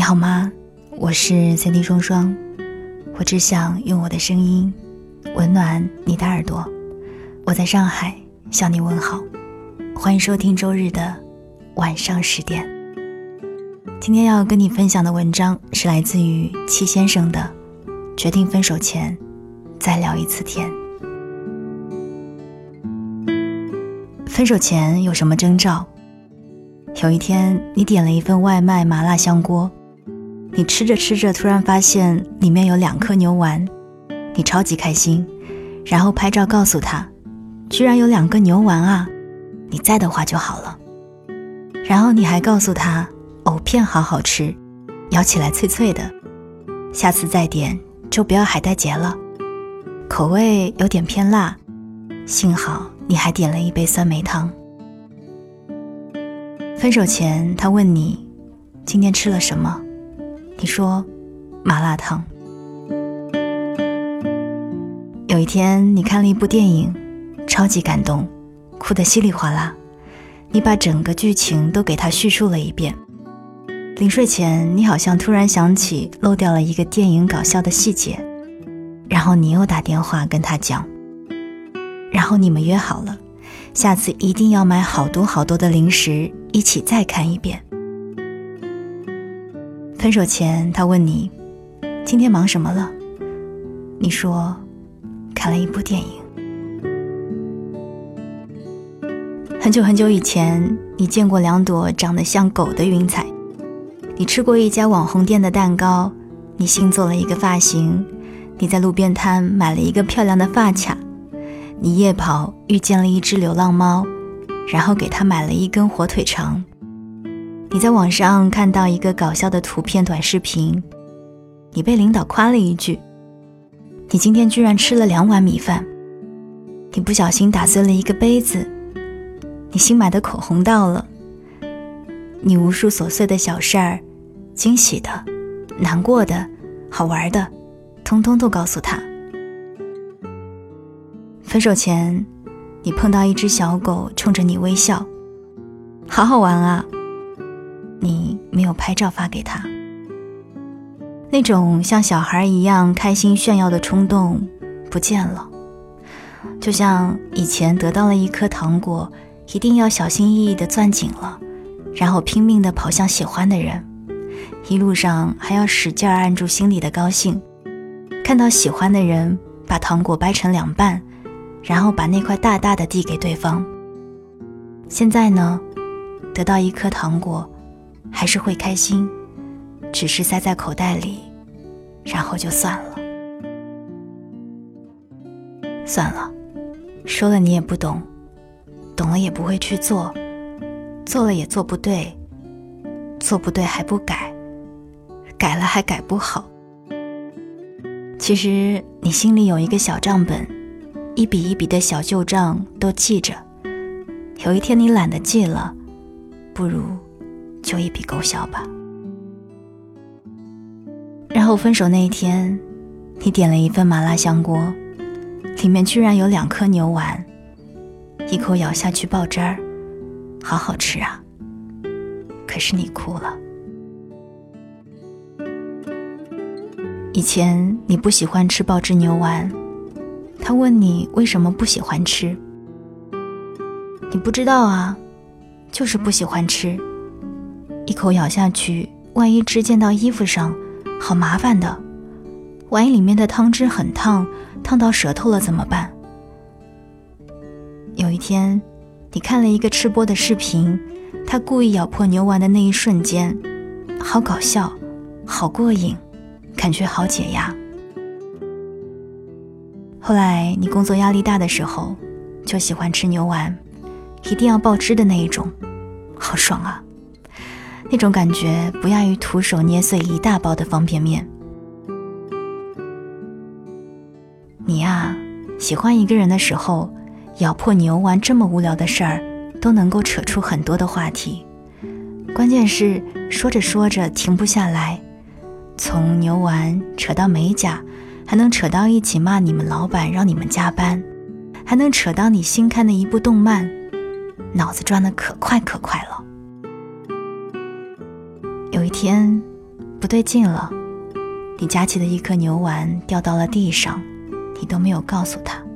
好吗？我是 CD 双双，我只想用我的声音温暖你的耳朵。我在上海向你问好，欢迎收听周日的晚上10点。今天要跟你分享的文章是来自于戚先生的决定分手前再聊一次天。分手前有什么征兆？有一天你点了一份外卖麻辣香锅，你吃着吃着突然发现里面有2颗牛丸，你超级开心，然后拍照告诉他，居然有2个牛丸啊，你在的话就好了。然后你还告诉他藕片好好吃，咬起来脆脆的，下次再点就不要海带结了，口味有点偏辣，幸好你还点了一杯酸梅汤。分手前他问你今天吃了什么，你说麻辣烫。有一天你看了一部电影，超级感动，哭得稀里哗啦，你把整个剧情都给他叙述了一遍。临睡前你好像突然想起漏掉了一个电影搞笑的细节，然后你又打电话跟他讲，然后你们约好了下次一定要买好多好多的零食一起再看一遍。分手前他问你今天忙什么了，你说看了一部电影。很久很久以前你见过2朵长得像狗的云彩，你吃过一家网红店的蛋糕，你新做了一个发型，你在路边摊买了一个漂亮的发卡，你夜跑遇见了一只流浪猫，然后给它买了一根火腿肠。你在网上看到一个搞笑的图片短视频，你被领导夸了一句，你今天居然吃了2碗米饭，你不小心打碎了一个杯子，你新买的口红到了，你无数琐碎的小事儿，惊喜的、难过的、好玩的，通通都告诉他。分手前你碰到一只小狗冲着你微笑，好好玩啊，你没有拍照发给他。那种像小孩一样开心炫耀的冲动不见了，就像以前得到了一颗糖果，一定要小心翼翼地攥紧了，然后拼命地跑向喜欢的人，一路上还要使劲按住心里的高兴，看到喜欢的人把糖果掰成2半，然后把那块大大的递给对方。现在呢，得到一颗糖果还是会开心，只是塞在口袋里，然后就算了。算了，说了你也不懂，懂了也不会去做，做了也做不对，做不对还不改，改了还改不好。其实你心里有一个小账本，一笔一笔的小旧账都记着，有一天你懒得记了，不如就一笔勾销吧。然后分手那一天，你点了一份麻辣香锅，里面居然有2颗牛丸，一口咬下去爆汁儿，好好吃啊，可是你哭了。以前你不喜欢吃爆汁牛丸，他问你为什么不喜欢吃，你不知道啊，就是不喜欢吃，一口咬下去，万一汁溅到衣服上，好麻烦的，万一里面的汤汁很烫，烫到舌头了怎么办？有一天你看了一个吃播的视频，他故意咬破牛丸的那一瞬间，好搞笑，好过瘾，感觉好解压。后来你工作压力大的时候，就喜欢吃牛丸，一定要爆汁的那一种，好爽啊，那种感觉不亚于徒手捏碎一大包的方便面。你啊，喜欢一个人的时候，咬破牛丸这么无聊的事儿都能够扯出很多的话题，关键是说着说着停不下来，从牛丸扯到美甲，还能扯到一起骂你们老板让你们加班，还能扯到你新看的一部动漫，脑子转得可快可快了。有一天不对劲了，你夹起的一颗牛丸掉到了地上，你都没有告诉他。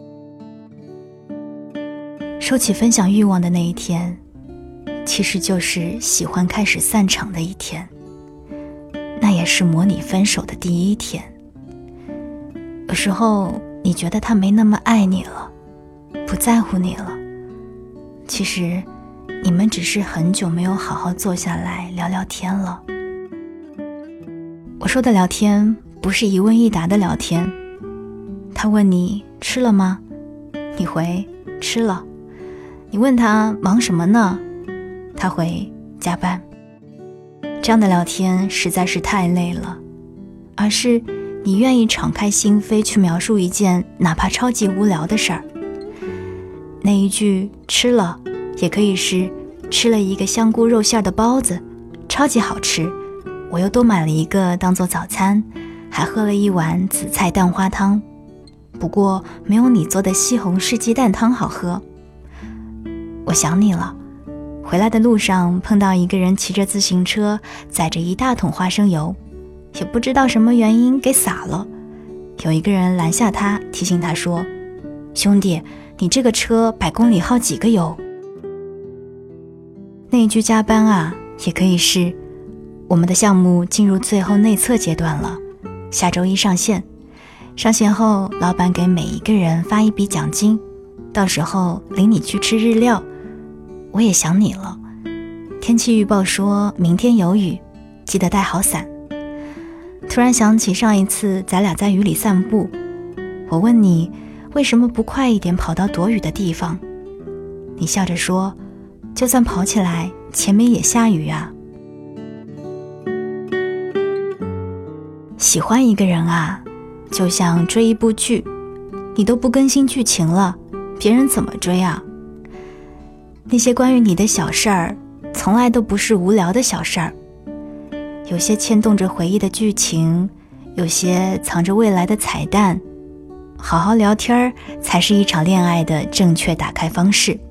收起分享欲望的那一天，其实就是喜欢开始散场的一天，那也是模拟分手的第一天。有时候你觉得他没那么爱你了，不在乎你了，其实你们只是很久没有好好坐下来聊聊天了。我说的聊天不是一问一答的聊天，他问你吃了吗？你回吃了。你问他忙什么呢？他回加班。这样的聊天实在是太累了，而是你愿意敞开心扉去描述一件哪怕超级无聊的事儿。那一句吃了也可以是吃了一个香菇肉馅的包子，超级好吃，我又多买了一个当做早餐，还喝了一碗紫菜蛋花汤，不过没有你做的西红柿鸡蛋汤好喝。我想你了，回来的路上碰到一个人骑着自行车载着一大桶花生油，也不知道什么原因给洒了。有一个人拦下他，提醒他说，兄弟，你这个车100公里耗几个油？那一句加班啊，也可以是我们的项目进入最后内测阶段了，下周一上线，上线后老板给每一个人发一笔奖金，到时候领你去吃日料。我也想你了，天气预报说明天有雨，记得带好伞。突然想起上一次咱俩在雨里散步，我问你为什么不快一点跑到躲雨的地方，你笑着说，就算跑起来前面也下雨啊。喜欢一个人啊，就像追一部剧，你都不更新剧情了，别人怎么追啊？那些关于你的小事儿，从来都不是无聊的小事儿，有些牵动着回忆的剧情，有些藏着未来的彩蛋。好好聊天才是一场恋爱的正确打开方式。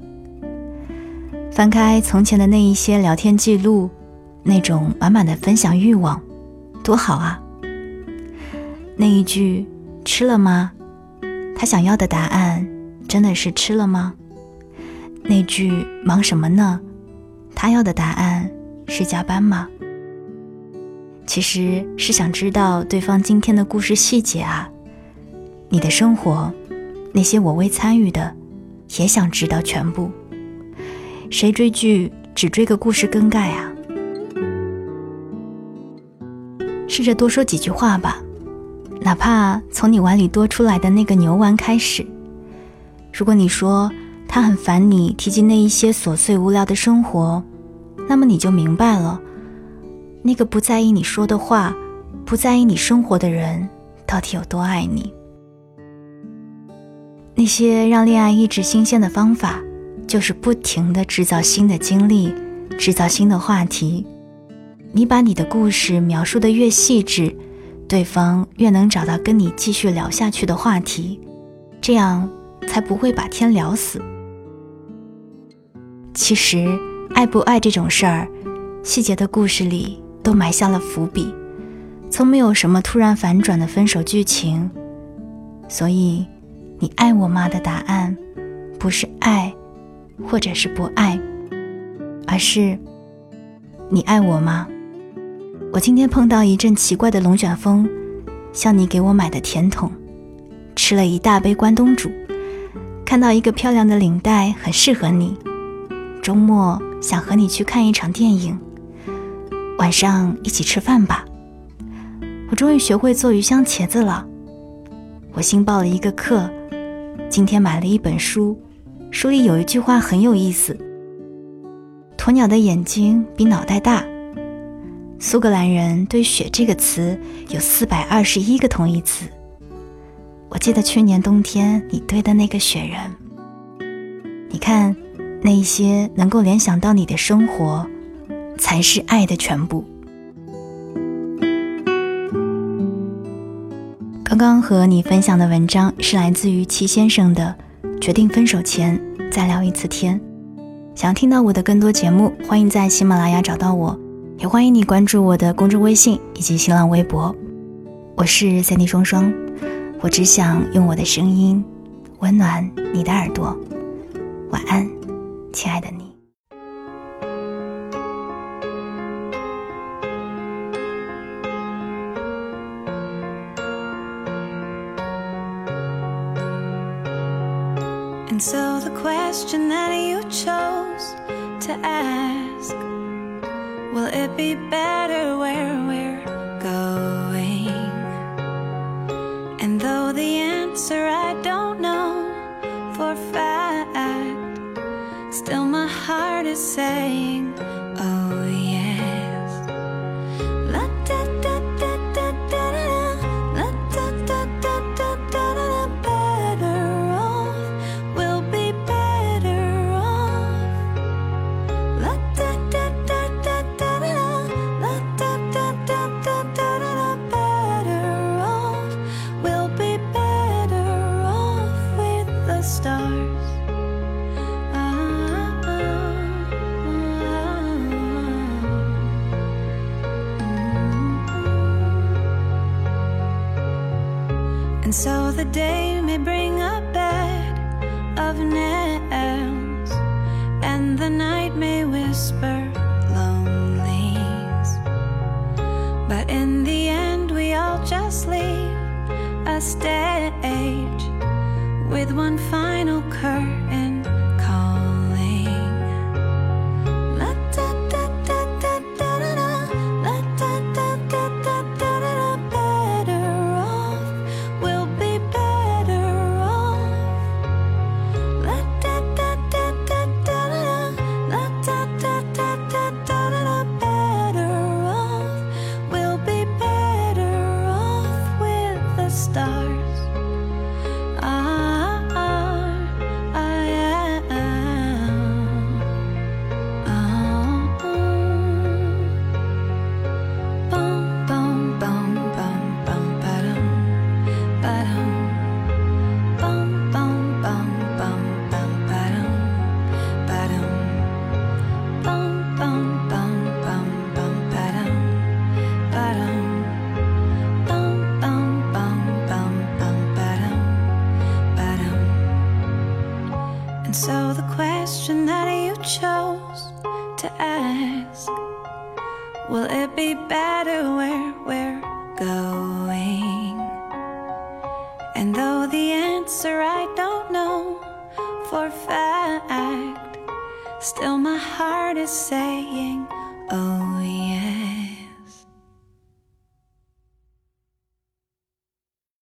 翻开从前的那一些聊天记录，那种满满的分享欲望，多好啊！那一句吃了吗？他想要的答案真的是吃了吗？那句忙什么呢？他要的答案是加班吗？其实是想知道对方今天的故事细节啊。你的生活，那些我未参与的，也想知道全部。谁追剧只追个故事更改啊？试着多说几句话吧，哪怕从你碗里多出来的那个牛丸开始。如果你说他很烦你提及那一些琐碎无聊的生活，那么你就明白了，那个不在意你说的话，不在意你生活的人到底有多爱你。那些让恋爱一直新鲜的方法，就是不停地制造新的经历，制造新的话题。你把你的故事描述得越细致，对方越能找到跟你继续聊下去的话题，这样才不会把天聊死。其实爱不爱这种事儿，细节的故事里都埋下了伏笔，从没有什么突然反转的分手剧情。所以你爱我吗的答案不是爱或者是不爱，而是你爱我吗？我今天碰到一阵奇怪的龙卷风，像你给我买的甜筒，吃了一大杯关东煮，看到一个漂亮的领带很适合你，周末想和你去看一场电影，晚上一起吃饭吧。我终于学会做鱼香茄子了，我新报了一个课，今天买了一本书，书里有一句话很有意思，鸵鸟的眼睛比脑袋大。苏格兰人对雪这个词有421个同义词，我记得去年冬天你堆的那个雪人。你看，那一些能够联想到你的生活，才是爱的全部。刚刚和你分享的文章是来自于齐先生的决定分手前再聊一次天。想要听到我的更多节目，欢迎在喜马拉雅找到我， 也欢迎你关注我的公众微信以及新浪微博，我是3D 双双，我只想用我的声音温暖你的耳朵。晚安，亲爱的你。 And so the question that you chose to ask, will it be better where we're going? And though the answer I don't know for a fact, still my heart is saying, oh yes. La da da da da da da, la da da da da da da, better off, we'll be better off. La da da da da da da, la da da da da da da, better off, we'll be better off with the stars. And so the day may bring a bed of nails, and the night may whisper lonelies, but in the end we all just leave a stage with one final curtain calling. La da da da da da da, la da da da da da da, better off, we'll be better off. La da da da da da da, la da da da da da da, better off, we'll be better off with the stars. And so the question that you chose to ask, will it be better where we're going? And though the answer I don't know for a fact, still my heart is saying,